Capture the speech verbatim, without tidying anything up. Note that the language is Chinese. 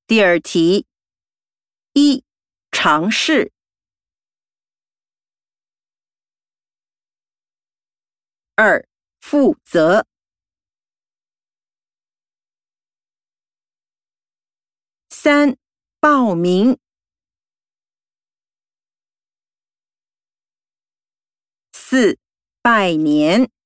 第二题，一、尝试；二、负责；三、报名；四、拜年。